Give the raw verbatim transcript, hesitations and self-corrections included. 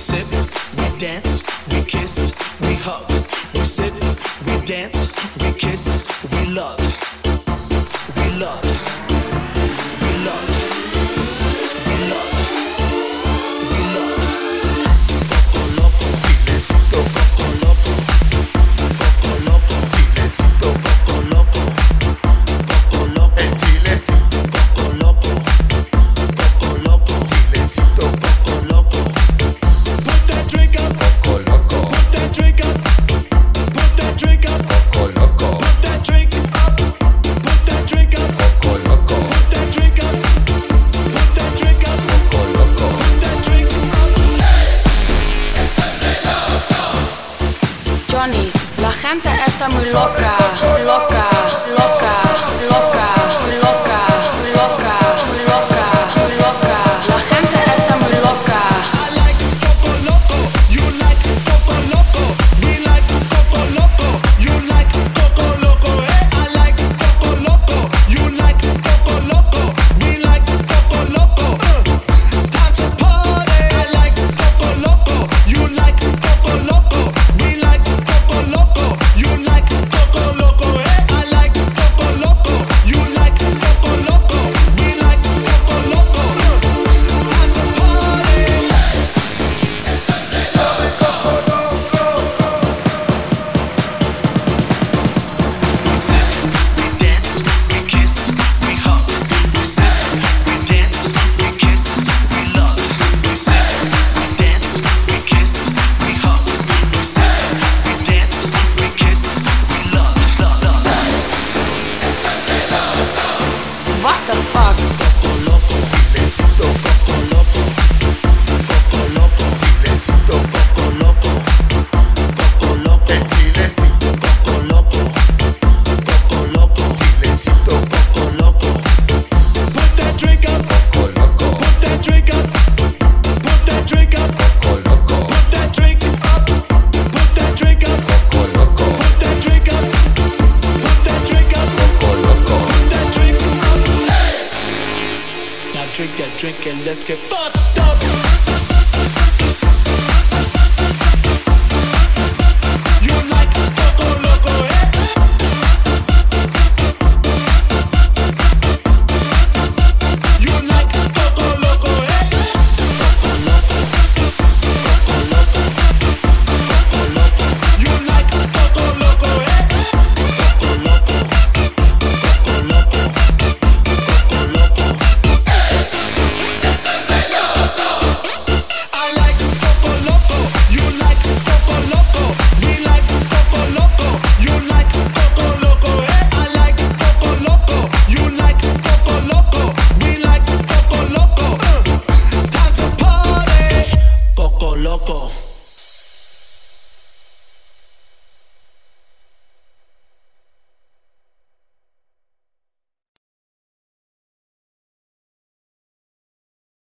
sip, we dance, we kiss, we hug. We sip, we dance, we kiss, we love. We love. We love. We love. We love. Poco loco, chilecito, poco loco. Poco loco, chilecito, poco loco. Poco loco, el chilecito, poco loco. Poco loco, chilecito, poco loco. Put that drink up, poco loco. Put that drink up. Put that drink up, poco loco. Put that drink up. Put that drink up, poco loco. Put that drink up. Put that drink up, poco loco. Put that drink up. Johnny, la gente está muy loca, loca, loca, loca, loca, loca, loca, loca. La gente está muy loca. I like Coco Loco, you like Coco Loco. We like Coco Loco, you like Coco Loco. Eh? I like Coco Loco, you like Coco Loco. We like Coco Loco. Uh. Time to party. I like Coco Loco, you like Coco Loco. We like Coco Loco, you like Coco Loco. Eh? I like Coco Loco, you like Coco Loco. We like Coco Loco. Uh. Time to party. We sip, we dance, we kiss, we hug. We sip, we dance, we kiss, we love. We sip, we dance, we kiss, we hug. We sip, we dance, we kiss, we love, love, love. What the fuck? Poco loco, chilecito, poco loco. Poco loco, chilecito, poco loco. Poco loco, el chilecito, poco loco. Poco loco, chilecito, poco loco. Put that drink up, poco loco. Put that drink up. Put that drink up, poco loco. Put that drink up. Put that drink up, poco loco. Put that drink up. Put that drink up, poco loco. Put that drink up. Now drink that drink and let's get fucked up.